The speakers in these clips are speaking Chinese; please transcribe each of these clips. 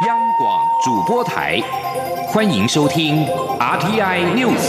央广主播台，欢迎收听 RTI News。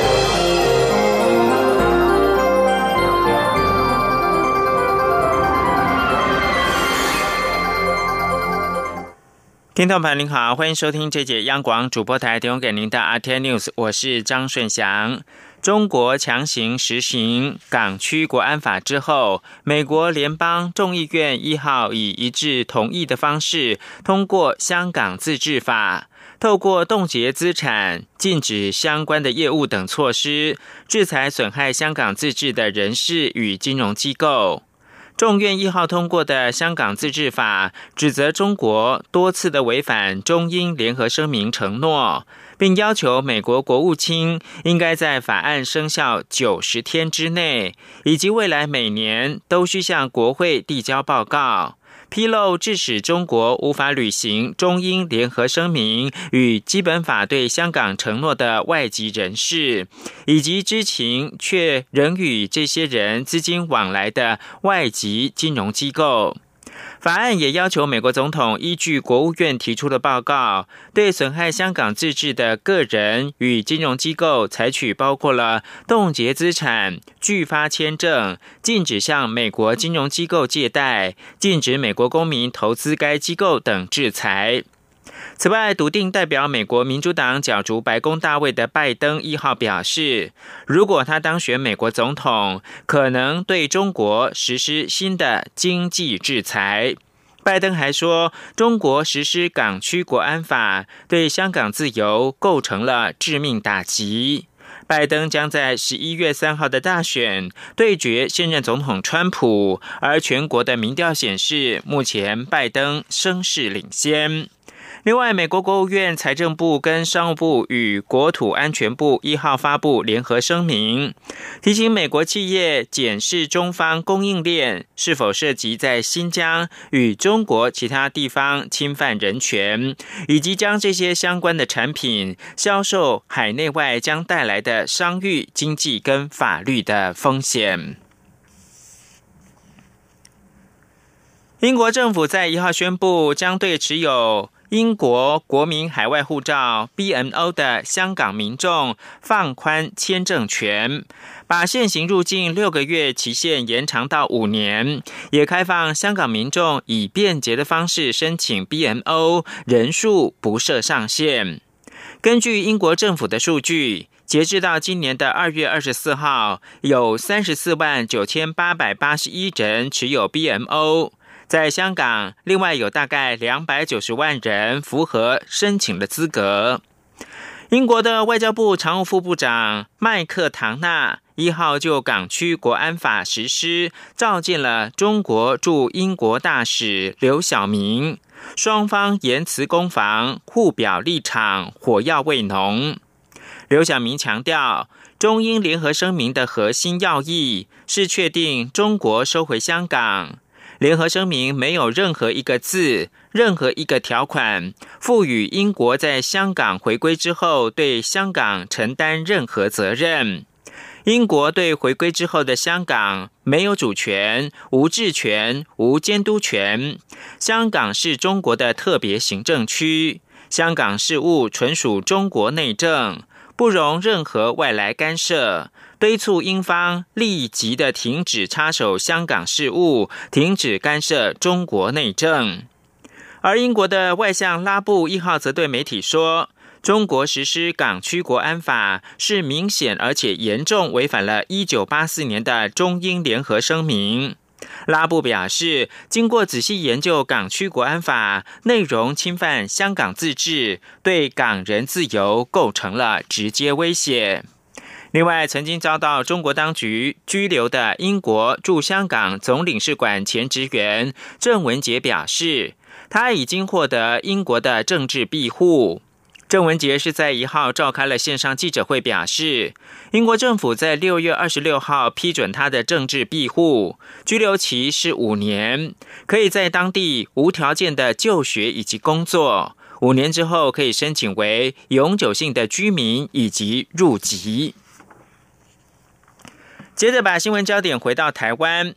听众朋友您好，欢迎收听这节央广主播台提供给您的 RTI News， 我是张顺祥。中国强行实行港区国安法之后，美国联邦众议院1号以一致同意的方式通过香港自治法，透过冻结资产、禁止相关的业务等措施，制裁损害香港自治的人士与金融机构。众院1号通过的香港自治法，指责中国多次的违反中英联合声明承诺，并要求美国国务卿应该在法案生效90天之内，以及未来每年都需向国会递交报告，披露致使中国无法履行中英联合声明与基本法对香港承诺的外籍人士，以及知情却仍与这些人资金往来的外籍金融机构。法案也要求美国总统依据国务院提出的报告，对损害香港自治的个人与金融机构采取包括了冻结资产、拒发签证、禁止向美国金融机构借贷、禁止美国公民投资该机构等制裁。此外，笃定代表美国民主党角逐白宫大位的拜登1号表示，如果他当选美国总统，可能对中国实施新的经济制裁。拜登还说，中国实施港区国安法对香港自由构成了致命打击。拜登将在11月3号的大选对决现任总统川普，而全国的民调显示，目前拜登声势领先。另外，美国国务院财政部跟商务部与国土安全部1号发布联合声明，提醒美国企业检视中方供应链是否涉及在新疆与中国其他地方侵犯人权，以及将这些相关的产品销售海内外将带来的商誉、经济跟法律的风险。英国政府在1号宣布，将对持有英国国民海外护照 BNO 的香港民众放宽签证权，把现行入境6个月期限延长到5年，也开放香港民众以便捷的方式申请 BNO， 人数不设上限。根据英国政府的数据，截至到今年的2月24号，有349881人持有 BNO。在香港，另外有大概290万人符合申请的资格。英国的外交部常务副部长麦克唐纳1号就港区国安法实施召见了中国驻英国大使刘晓明，双方言辞攻防，互表立场，火药味浓。刘晓明强调，中英联合声明的核心要义是确定中国收回香港。联合声明没有任何一个字、任何一个条款赋予英国在香港回归之后对香港承担任何责任。英国对回归之后的香港没有主权、无治权、无监督权。香港是中国的特别行政区，香港事务纯属中国内政，不容任何外来干涉。敦促英方立即的停止插手香港事务，停止干涉中国内政。而英国的外相拉布1号则对媒体说，中国实施港区国安法是明显而且严重违反了1984年的中英联合声明。拉布表示，经过仔细研究港区国安法，内容侵犯香港自治，对港人自由构成了直接威胁。另外，曾经遭到中国当局拘留的英国驻香港总领事馆前职员郑文杰表示，他已经获得英国的政治庇护。郑文杰是在1号召开了线上记者会，表示英国政府在6月26号批准他的政治庇护，居留期是5年，可以在当地无条件的就学以及工作，5年之后可以申请为永久性的居民以及入籍。接着把新闻焦点回到台湾，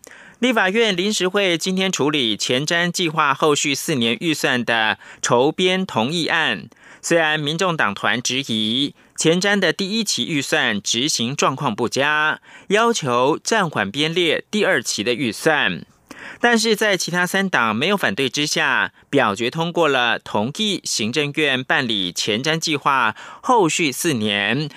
立法院临时会今天处理前瞻计划后续4年预算的筹编同意案。虽然民众党团质疑前瞻的第1期预算执行状况不佳，要求暂缓编列第2期的预算，但是在其他3党没有反对之下，表决通过了同意行政院办理前瞻计划后续4年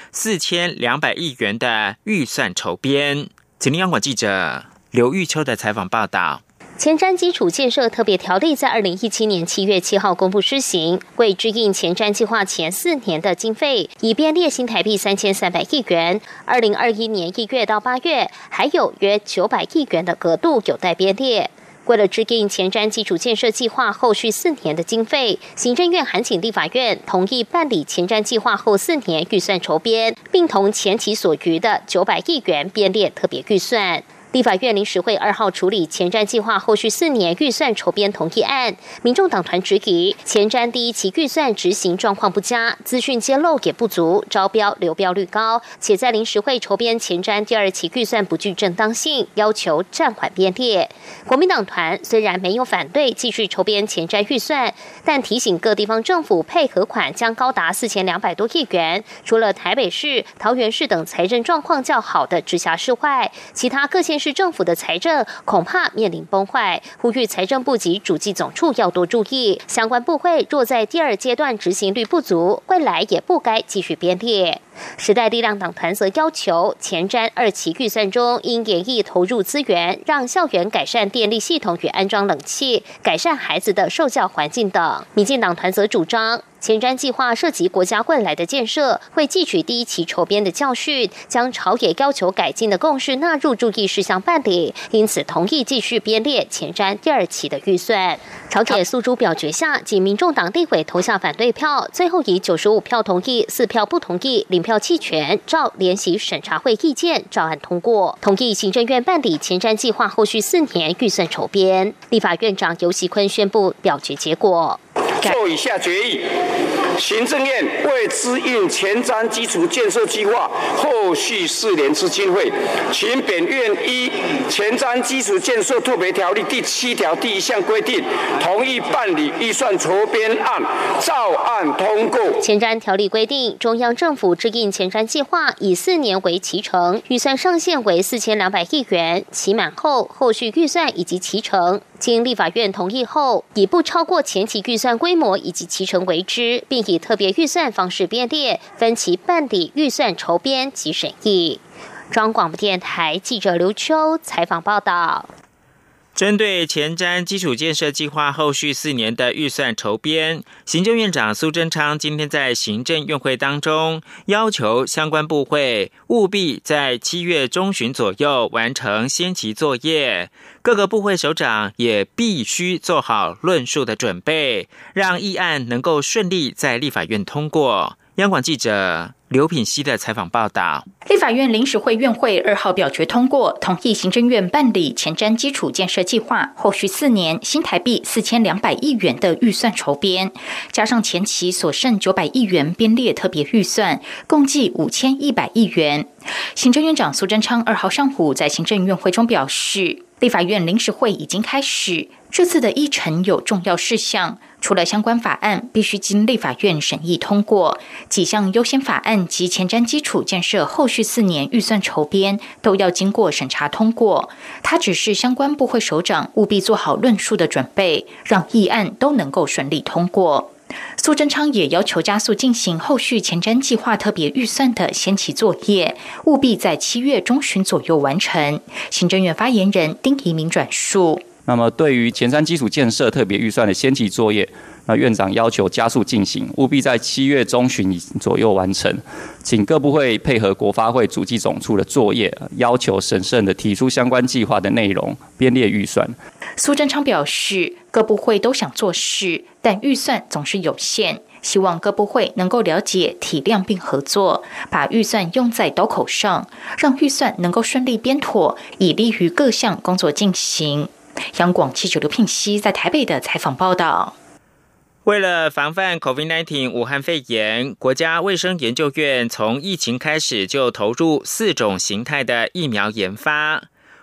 4200亿元的预算筹编。请听央广记者刘玉秋的采访报道。 前瞻基础建设特别条例在2017年7月7号公布施行，为支应前瞻计划前4年的经费，已编列新台币3300亿元。2021年1月到8月，还有约900亿元的额度有待编列。为了支应前瞻基础建设计划后续4年的经费，行政院函请立法院同意办理前瞻计划后4年预算筹编，并同前期所余的900亿元编列特别预算。立法院临时会2号处理前瞻计划后续4年预算筹编同意案，民众党团质疑前瞻第1期预算执行状况不佳，资讯揭露也不足，招标流标率高，且在临时会筹编前瞻第2期预算不具正当性，要求暂缓编列。国民党团虽然没有反对继续筹编前瞻预算，但提醒各地方政府配合款将高达4200多亿元，除了台北市、桃园市等财政状况较好的直辖市外，其他各县市政府的财政恐怕面临崩坏，呼吁财政部及主计总处要多注意，相关部会若在第2阶段执行率不足，未来也不该继续编列。时代力量党团则要求前瞻2期预算中应研议投入资源，让校园改善电力系统与安装冷气，改善孩子的受教环境等。民进党团则主张前瞻计划涉及国家未来的建设，会汲取第1期筹编的教训，将朝野要求改进的共识纳入注意事项办理，因此同意继续编列前瞻第2期的预算。朝野诉诸表决下，仅民众党立委投下反对票，最后以95票同意、4票不同意、0票弃权，照联席审查会意见照案通过，同意行政院办理前瞻计划后续4年预算筹编。立法院长游锡堃宣布表决结果。 做以下决议：行政院为支应前瞻基础建设计划后续4年之经费，请本院依前瞻基础建设特别条例第7条第1项规定，同意办理预算筹编案，照案通过。 前瞻条例规定，中央政府支应前瞻计划以4年为期程，预算上限为4200亿元，期满后后续预算以及期程经立法院同意后，以不超过前期预算规模以及期程为之，并以特别预算方式编列，分期办理预算筹编及审议。中央广播电台记者刘秋采访报道。 针对前瞻基础建设计划后续4年的预算筹编，行政院长苏贞昌今天在行政院会当中要求相关部会务必在7月中旬左右完成先期作业，各个部会首长也必须做好论述的准备，让议案能够顺利在立法院通过。央广记者刘品希的采访报道。 立法院临时会院会2号表决通过，同意行政院办理前瞻基础建设计划后续4年新台币4200亿元的预算筹编，加上前期所剩900亿元编列特别预算，共计5100亿元。行政院长苏贞昌2号上午在行政院会中表示，立法院临时会已经开始，这次的议程有重要事项，除了相关法案必须经立法院审议通过，几项优先法案及前瞻基础建设后续4年预算筹编都要经过审查通过。他指示相关部会首长务必做好论述的准备，让议案都能够顺利通过。苏贞昌也要求加速进行后续前瞻计划特别预算的先期作业，务必在7月中旬左右完成。行政院发言人丁怡明转述。 那么对于前瞻基础建设特别预算的先期作业，那院长要求加速进行，务必在7月中旬左右完成，请各部会配合国发会主计总处的作业，要求审慎的提出相关计划的内容，编列预算。 苏贞昌表示，各部会都想做事，但预算总是有限，希望各部会能够了解、体谅并合作，把预算用在刀口上，让预算能够顺利编妥，以利于各项工作进行。央广记者刘聘熙在台北的采访报道。 为了防范 COVID-19 武汉肺炎，国家卫生研究院从疫情开始就投入4种形态的疫苗研发。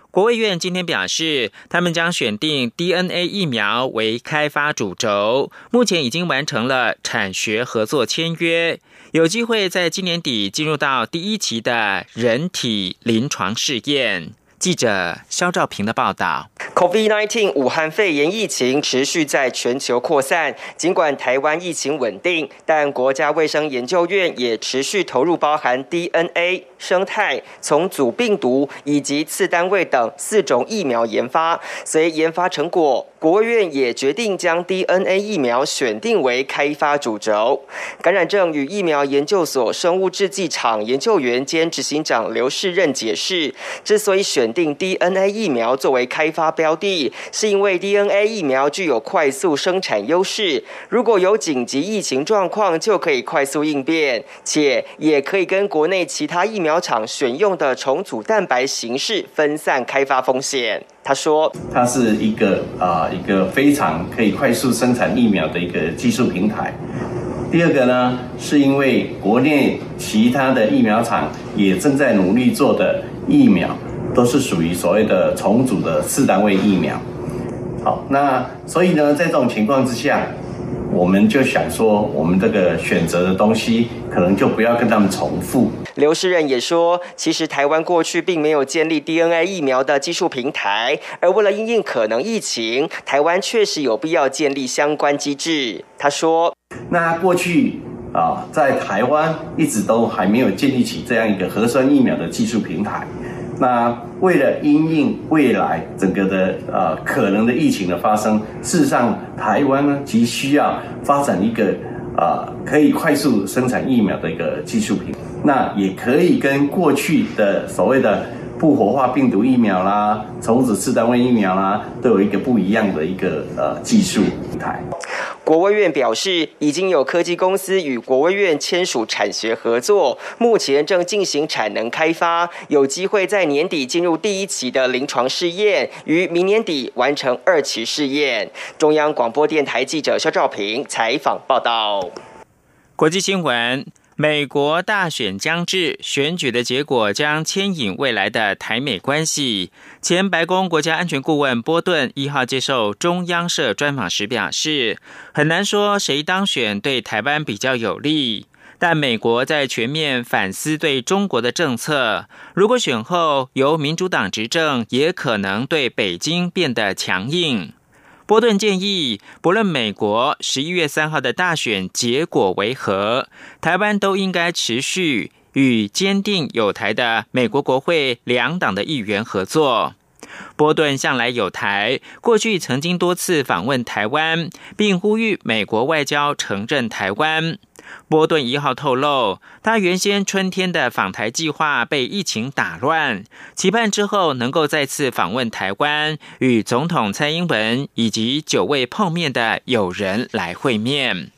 国卫院今天表示，他们将选定 DNA 疫苗为开发主轴，目前已经完成了产学合作签约，有机会在今年底进入到第1期的人体临床试验。记者肖兆平的报道。 COVID-19 武汉肺炎疫情持续在全球扩散，尽管台湾疫情稳定，但国家卫生研究院也持续投入包含 DNA、生态、重组病毒以及次单位等4种疫苗研发。随研发成果，国卫院也决定将 DNA 疫苗选定为开发主轴。感染症与疫苗研究所生物制剂厂研究员兼执行长刘世任解释，之所以选定 DNA 疫苗作为开发标的，是因为 DNA 疫苗具有快速生产优势，如果有紧急疫情状况就可以快速应变，且也可以跟国内其他疫苗厂选用的重组蛋白形式分散开发风险。他说， 它是一个非常可以快速生产疫苗的一个技术平台。第二个呢，是因为国内其他的疫苗厂也正在努力做的疫苗，都是属于所谓的重组的4单位疫苗。好，那所以呢，在这种情况之下，我们就想说，我们这个选择的东西可能就不要跟他们重复。 刘世任也说，其实台湾过去并没有建立 DNA 疫苗的技术平台，而为了因应可能疫情，台湾确实有必要建立相关机制。他说， 那过去在台湾一直都还没有建立起这样一个核酸疫苗的技术平台。那为了因应未来整个的可能的疫情的发生，事实上台湾呢急需要发展一个可以快速生产疫苗的一个技术平台，那也可以跟过去的所谓的不活化病毒疫苗啦、重组4单位疫苗啦，都有一个不一样的一个技术平台。 国卫院表示，已经有科技公司与国卫院签署产学合作，目前正进行产能开发，有机会在年底进入第1期的临床试验，于明年底完成2期试验。中央广播电台记者肖兆平采访报道。 国际新闻。美国大选将至，选举的结果将牵引未来的台美关系。前白宫国家安全顾问波顿1号接受中央社专访时表示，很难说谁当选对台湾比较有利，但美国在全面反思对中国的政策，如果选后由民主党执政，也可能对北京变得强硬。波顿建议，不论美国11月3号的大选结果为何，台湾都应该持续与坚定友台的美国国会2党的议员合作。波顿向来友台，过去曾经多次访问台湾，并呼吁美国外交承认台湾。波顿1号透露，他原先春天的访台计划被疫情打乱，期盼之后能够再次访问台湾，与总统蔡英文以及9位碰面的友人来会面。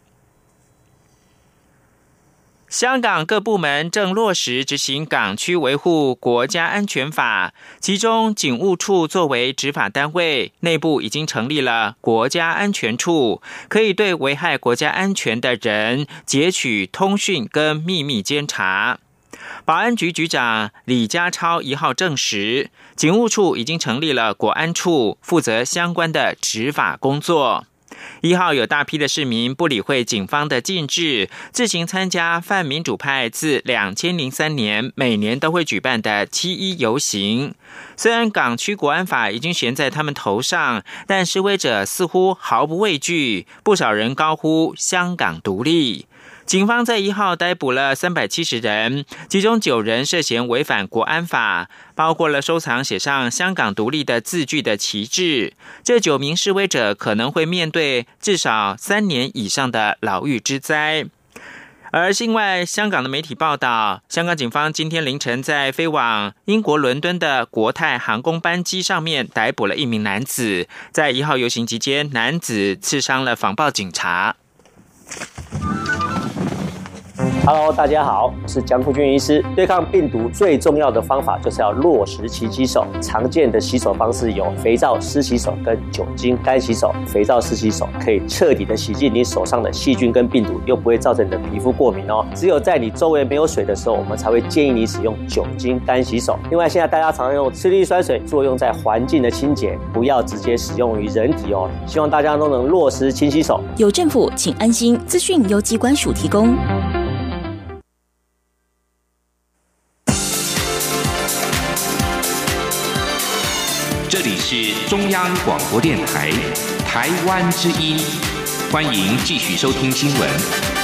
香港各部门正落实执行港区维护国家安全法，其中警务处作为执法单位，内部已经成立了国家安全处，可以对危害国家安全的人截取通讯跟秘密监察。保安局局长李家超1号证实，警务处已经成立了国安处，负责相关的执法工作。1号有大批的市民不理会警方的禁制，自行参加泛民主派自2003年每年都会举办的7·1游行。虽然港区国安法已经悬在他们头上，但示威者似乎毫不畏惧，不少人高呼香港独立。警方在1号逮捕了370人，其中9人涉嫌违反国安法，包括了收藏写上香港独立的字句的旗帜。这9名示威者可能会面对至少3年以上的牢狱之灾。而另外，香港的媒体报道，香港警方今天凌晨在飞往英国伦敦的国泰航空班机上面逮捕了1名男子，在1号游行期间，男子刺伤了防暴警察。 Hello， 大家好，我是江富君医师。对抗病毒最重要的方法就是要落实勤洗手。常见的洗手方式有肥皂湿洗手跟酒精干洗手。肥皂湿洗手可以彻底的洗净你手上的细菌跟病毒，又不会造成你的皮肤过敏哦。只有在你周围没有水的时候，我们才会建议你使用酒精干洗手。另外，现在大家常用次氯酸水作用在环境的清洁，不要直接使用于人体哦。希望大家都能落实勤洗手。 有政府，请安心。资讯由疾管署提供。 这里是中央广播电台台湾之音，欢迎继续收听新闻。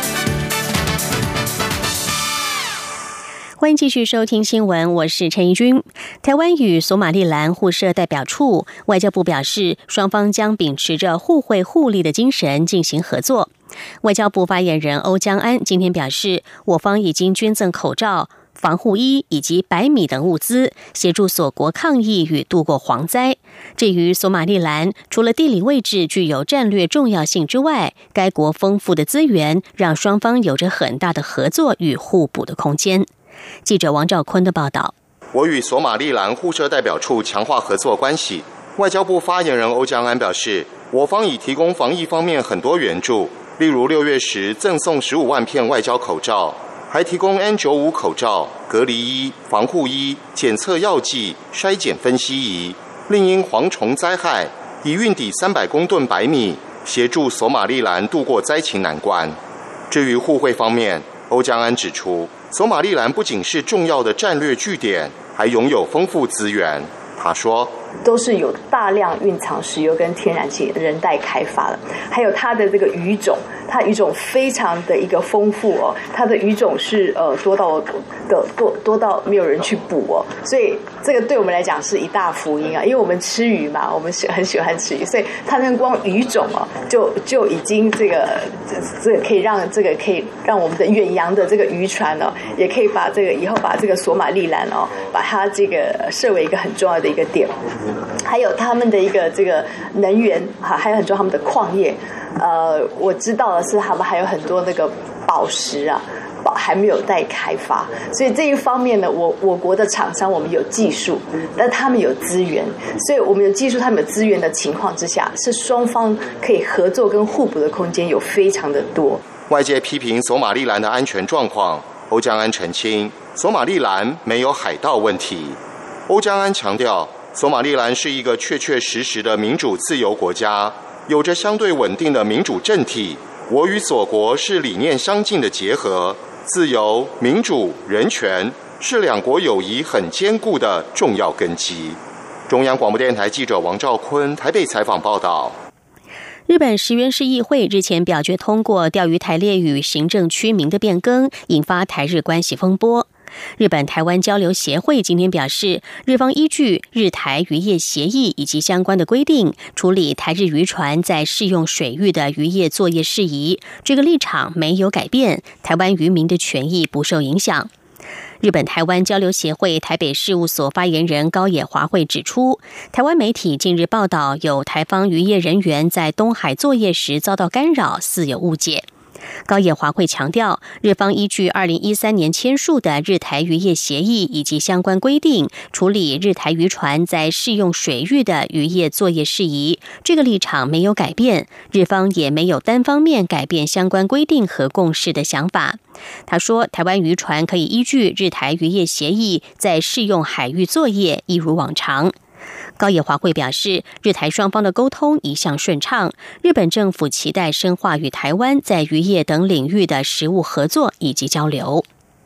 欢迎继续收听新闻，我是陈怡君。台湾与索马利兰互设代表处，外交部表示，双方将秉持着互惠互利的精神进行合作。外交部发言人欧江安今天表示，我方已经捐赠口罩、防护衣以及白米等物资，协助索国抗疫与度过蝗灾。至于索马利兰，除了地理位置具有战略重要性之外，该国丰富的资源让双方有着很大的合作与互补的空间。记者王兆坤的报道。 我与索马利兰互设代表处强化合作关系。外交部发言人欧江安表示，我方已提供防疫方面很多援助，例如6月时赠送15万片外交口罩，还提供 N95 口罩、隔离衣、防护衣、检测药剂、筛检分析仪。另因蝗虫灾害，已运抵300公吨白米，协助索马利兰度过灾情难关。至于互惠方面，欧江安指出，索马利兰不仅是重要的战略据点，还拥有丰富资源。他说， 都是有大量蕴藏石油跟天然气人待开发的，还有它的这个鱼种，它鱼种非常的一个丰富哦，它的鱼种是多到没有人去捕哦，所以这个对我们来讲是一大福音啊，因为我们吃鱼嘛，我们很喜欢吃鱼，所以它那光鱼种哦，就已经这个可以让我们的远洋的这个渔船哦，也可以把这个以后把这个索马利兰哦，把它这个设为一个很重要的一个点。还有他们的一个这个能源还有很多他们的矿业，我知道的是他们还有很多那个宝石啊，还没有待开发，所以这一方面呢，我国的厂商我们有技术，但他们有资源，所以我们有技术，他们有资源的情况之下，是双方可以合作跟互补的空间有非常的多。 外界批评索马利兰的安全状况，欧江安澄清，索马利兰没有海盗问题。欧江安强调，索马利兰是一个确确实实的民主自由国家，有着相对稳定的民主政体。我与索国是理念相近的结合，自由、民主、人权是两国友谊很坚固的重要根基。中央广播电台记者王兆坤台北采访报道。 日本石垣市议会日前表决通过钓鱼台列屿行政区名的变更，引发台日关系风波。日本台湾交流协会今天表示，日方依据日台渔业协议以及相关的规定，处理台日渔船在适用水域的渔业作业事宜，这个立场没有改变，台湾渔民的权益不受影响。日本台湾交流协会台北事务所发言人高野华惠指出，台湾媒体近日报道有台方渔业人员在东海作业时遭到干扰，似有误解。高野华惠强调，日方依据2013年签署的日台渔业协议以及相关规定，处理日台渔船在适用水域的渔业作业事宜，这个立场没有改变，日方也没有单方面改变相关规定和共识的想法。他说，台湾渔船可以依据日台渔业协议在适用海域作业，一如往常。高野华惠表示，日台双方的沟通一向顺畅，日本政府期待深化与台湾在渔业等领域的实务合作以及交流。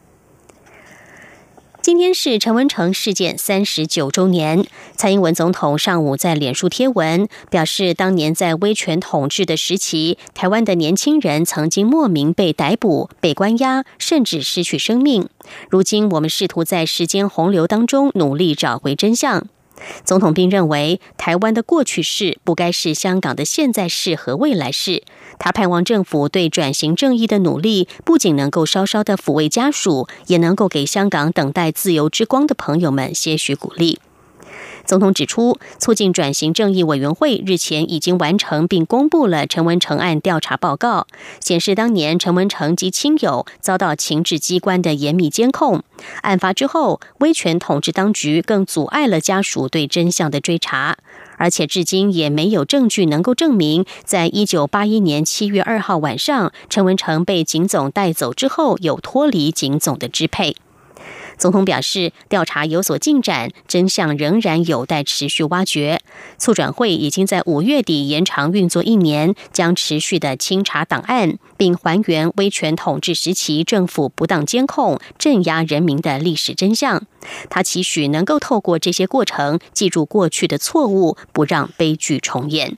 今天是陈文成事件39周年，蔡英文总统上午在脸书贴文表示，当年在威权统治的时期，台湾的年轻人曾经莫名被逮捕、被关押，甚至失去生命。如今我们试图在时间洪流当中努力找回真相。总统并认为，台湾的过去式不该是香港的现在式和未来式。他盼望政府对转型正义的努力，不仅能够稍稍的抚慰家属，也能够给香港等待自由之光的朋友们些许鼓励。 总统指出，促进转型正义委员会日前已经完成并公布了陈文成案调查报告，显示当年陈文成及亲友遭到情治机关的严密监控。案发之后，威权统治当局更阻碍了家属对真相的追查，而且至今也没有证据能够证明，在1981年7月2号晚上，陈文成被警总带走之后，有脱离警总的支配。总统表示，调查有所进展，真相仍然有待持续挖掘。促转会已经在5月底延长运作1年，将持续的清查档案，并还原威权统治时期政府不当监控、镇压人民的历史真相。他期许能够透过这些过程，记住过去的错误，不让悲剧重演。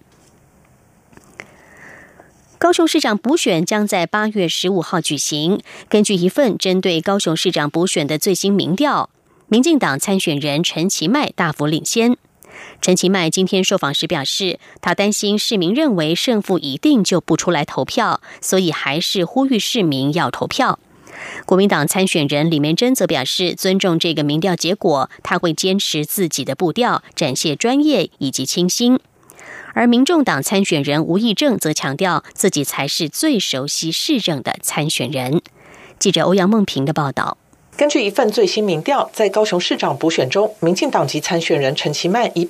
高雄市长补选将在8月15号举行。根据一份针对高雄市长补选的最新民调，民进党参选人陈其迈大幅领先。陈其迈今天受访时表示，他担心市民认为胜负已定就不出来投票，所以还是呼吁市民要投票。国民党参选人李梅珍则表示，尊重这个民调结果，他会坚持自己的步调，展现专业以及清新。而民众党参选人吴益政则强调，自己才是最熟悉市政的参选人。记者欧阳梦平的报道。 根据一份最新民调，在高雄市长补选中，民进党籍参选人陈其迈以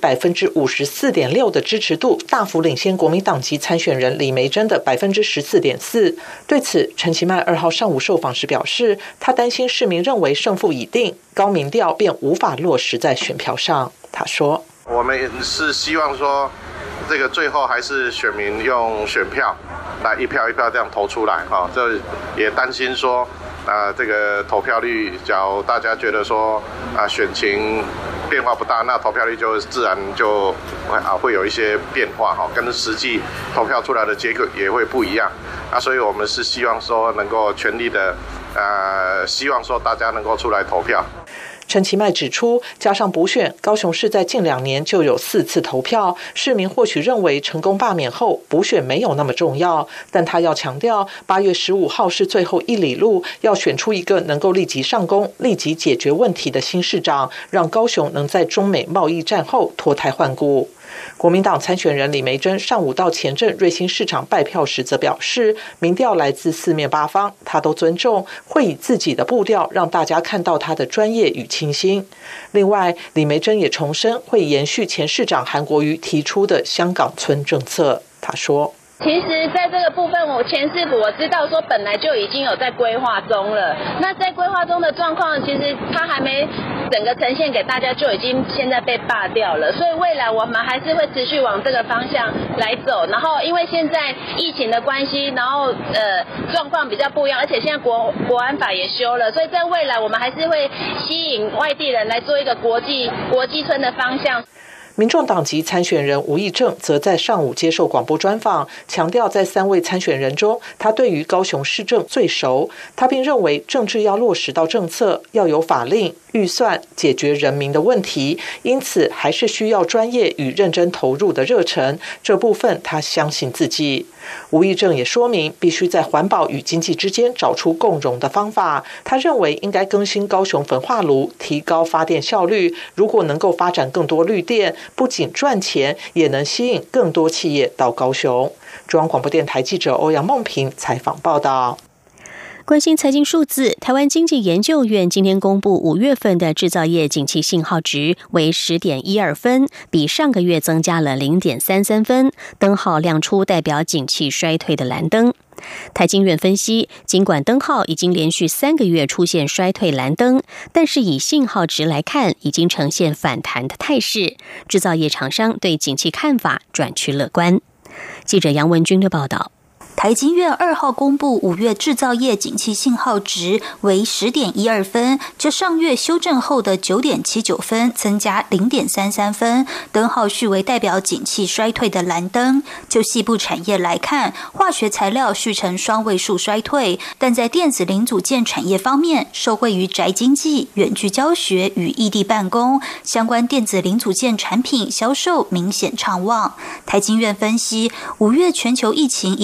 54.6% 的支持度大幅领先国民党籍参选人李梅珍的 14.4%。对此，陈其迈2号上午受访时表示，他担心市民认为胜负已定，高民调便无法落实在选票上。他说：“ 我们是希望说，这个最后还是选民用选票来一票一票这样投出来哈，这也担心说。”这个投票率，假如大家觉得说选情变化不大，那投票率就自然就会有一些变化哈，跟实际投票出来的结果也会不一样。所以我们是希望说能够全力的希望说大家能够出来投票。 陈其迈指出，加上补选，高雄市在近2年就有4次投票，市民或许认为成功罢免后补选没有那么重要，但他要强调8月15号是最后一里路，要选出一个能够立即上攻、立即解决问题的新市长，让高雄能在中美贸易战后脱胎换骨。国民党参选人李梅珍上午到前镇瑞兴市场拜票时则表示，民调来自四面八方，他都尊重，会以自己的步调让大家看到他的专业与清新。另外，李梅珍也重申会延续前市长韩国瑜提出的香港村政策。他说， 其实在这个部分，前市府我知道说本来就已经有在规划中了，那在规划中的状况，其实它还没整个呈现给大家，就已经现在被罢掉了，所以未来我们还是会持续往这个方向来走。然后因为现在疫情的关系，然后状况比较不一样，而且现在国安法也修了，所以在未来我们还是会吸引外地人来做一个国际村的方向。 民众党籍参选人吴益政则在上午接受广播专访，强调在3位参选人中，他对于高雄市政最熟。他并认为政治要落实到政策，要有法令、预算，解决人民的问题，因此还是需要专业与认真投入的热忱。这部分他相信自己。吴益政也说明，必须在环保与经济之间找出共融的方法。他认为应该更新高雄焚化炉，提高发电效率。如果能够发展更多绿电，不仅赚钱，也能吸引更多企业到高雄。中央广播电台记者欧阳梦平采访报道。 关心财经数字，台湾经济研究院今天公布5月份的制造业景气信号值为 10.12 分，比上个月增加了 0.33 分，灯号亮出代表景气衰退的蓝灯。台经院分析，尽管灯号已经连续3个月出现衰退蓝灯，但是以信号值来看，已经呈现反弹的态势，制造业厂商对景气看法转趋乐观。记者杨文君的报道。 台经院2号公布5月制造业景气信号值为 10.12 分，较上月修正后的 9.79 分增加 0.33 分，灯号续为代表景气衰退的蓝灯。就细部产业来看，化学材料续呈双位数衰退，但在电子零组件产业方面，受惠于宅经济、远距教学与异地办公，相关电子零组件产品销售明显畅旺。台经院分析，5月全球疫情依旧严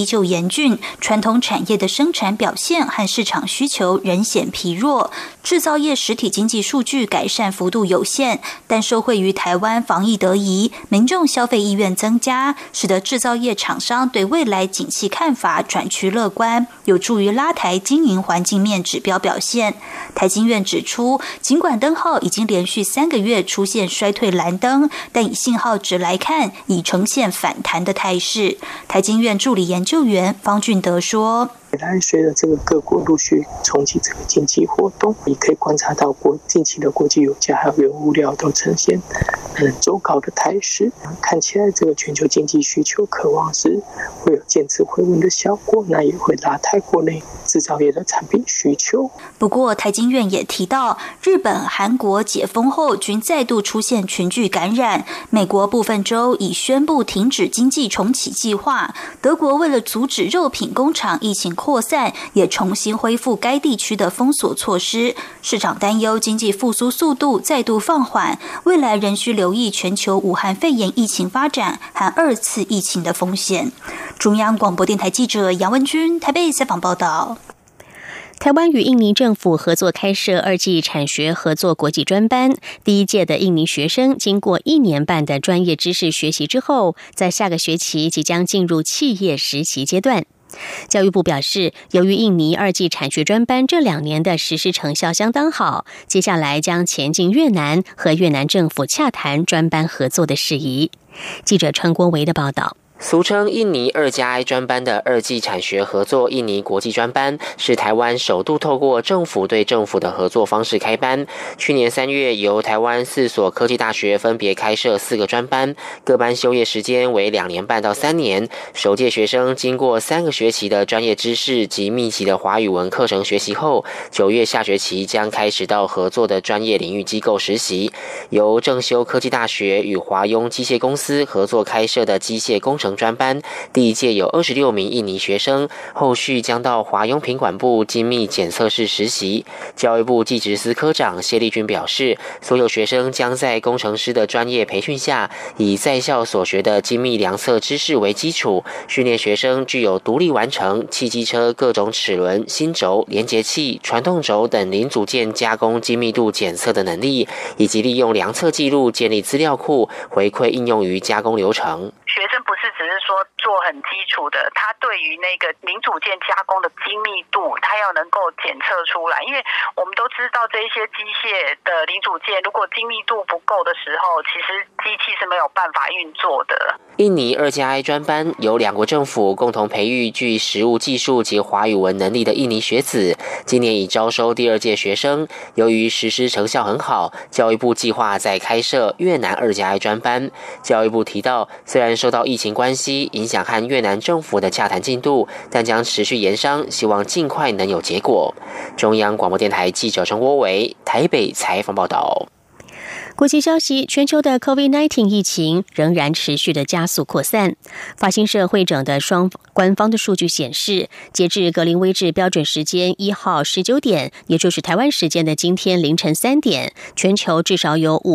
严峻，传统产业的生产表现和市场需求仍显疲弱，制造业实体经济数据改善幅度有限，但受惠于台湾防疫得宜，民众消费意愿增加，使得制造业厂商对未来景气看法转趋乐观，有助于拉抬经营环境面指标表现。台经院指出，尽管灯号已经连续3个月出现衰退蓝灯，但以信号值来看，已呈现反弹的态势。台经院助理研究员方俊德说， 未来随着这个各国陆续重启这个经济活动，你可以观察到近期的国际油价还有原物料都呈现走高的态势，看起来这个全球经济需求渴望是会有渐次回温的效果，那也会拉抬国内制造业的产品需求。 不过台经院也提到，日本、韩国解封后均再度出现群聚感染，美国部分州已宣布停止经济重启计划，德国为了阻止肉品工厂疫情扩散，也重新恢复该地区的封锁措施。市场担忧经济复苏速度再度放缓，未来仍需留意全球武汉肺炎疫情发展和2次疫情的风险。中央广播电台记者杨文君台北采访报道。 台湾与印尼政府合作开设2技产学合作国际专班，第一届的印尼学生经过1年半的专业知识学习之后，在下个学期即将进入企业实习阶段。教育部表示，由于印尼2技产学专班这2年的实施成效相当好，接下来将前进越南，和越南政府洽谈专班合作的事宜。记者陈国维的报道。 俗称印尼2+I 专班的2技产学合作印尼国际专班，是台湾首度透过政府对政府的合作方式开班。去年3月，由台湾4所科技大学分别开设4个专班，各班修业时间为2年半到3年。首届学生经过3个学期的专业知识及密集的华语文课程学习后，9月下学期将开始到合作的专业领域机构实习。由正修科技大学与华雍机械公司合作开设的机械工程专班，第一届有26名印尼学生，后续将到华雍品管部精密检测室实习。教育部技职司科长谢立军表示，所有学生将在工程师的专业培训下，以在校所学的精密量测知识为基础，训练学生具有独立完成汽机车各种齿轮、心轴、连结器、传动轴等零组件加工精密度检测的能力，以及利用量测记录建立资料库，回馈应用于加工流程。 学生不是只是说做很基础的，他对于那个零组件加工的精密度，他要能够检测出来。因为我们都知道这一些机械的零组件，如果精密度不够的时候，其实机器是没有办法运作的。 印尼2+I 专班由2国政府共同培育具实务技术及华语文能力的印尼学子，今年已招收第2届学生。由于实施成效很好，教育部计划再开设越南2+I 专班。教育部提到，虽然受到疫情关系影响和越南政府的洽谈进度，但将持续研商，希望尽快能有结果。中央广播电台记者陈国伟台北采访报道。 国际消息，全球的 COVID-19 疫情仍然持续的加速扩散。法新社会诊的官方的数据显示，截至格林威治标准时间1号19点，也就是台湾时间的今天凌晨3点，全球至少有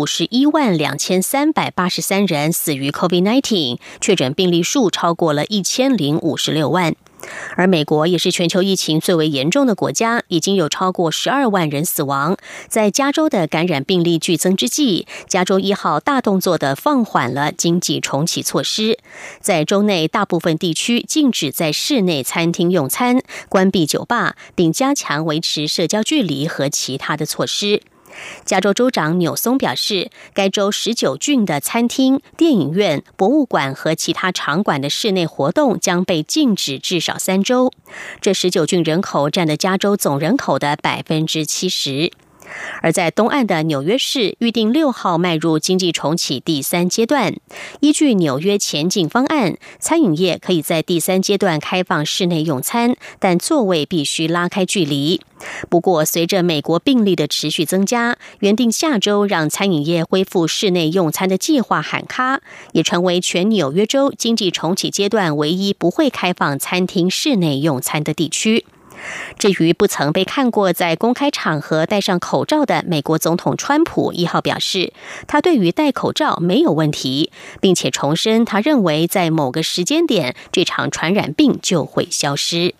512383人死于 COVID-19， 确诊病例数超过了1056万。而美国也是全球疫情最为严重的国家，已经有超过12万人死亡。在加州的感染病例剧增之际，加州1号大动作的放缓了经济重启措施，在州内大部分地区禁止在室内餐厅用餐，关闭酒吧，并加强维持社交距离和其他的措施。加州州长纽松表示，该州19郡的餐厅、电影院、博物馆和其他场馆的室内活动将被禁止至少3周。这19郡人口占了加州总人口的70%。而在东岸的纽约市，预定6号迈入经济重启第3阶段。依据纽约前进方案，餐饮业可以在第3阶段开放室内用餐，但座位必须拉开距离。不过，随着美国病例的持续增加，原定下周让餐饮业恢复室内用餐的计划喊卡，也成为全纽约州经济重启阶段唯一不会开放餐厅室内用餐的地区。 至于不曾被看过在公开场合戴上口罩的美国总统川普1号表示，他对于戴口罩没有问题，并且重申他认为在某个时间点这场传染病就会消失。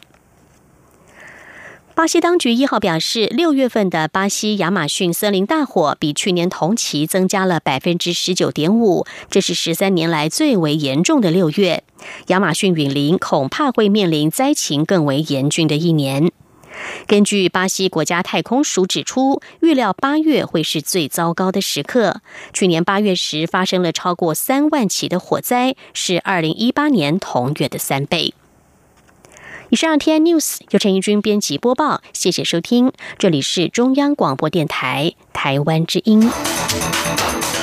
巴西当局1号表示，6月份的巴西亚马逊森林大火比去年同期增加了 19.5%， 这是13年来最为严重的6月。亚马逊雨林恐怕会面临灾情更为严峻的一年。根据巴西国家太空署指出，预料8月会是最糟糕的时刻。去年8月时发生了超过3万起的火灾，是2018年同月的3倍。以上 TN News 由陈怡君编辑播报，谢谢收听，这里是中央广播电台台湾之音。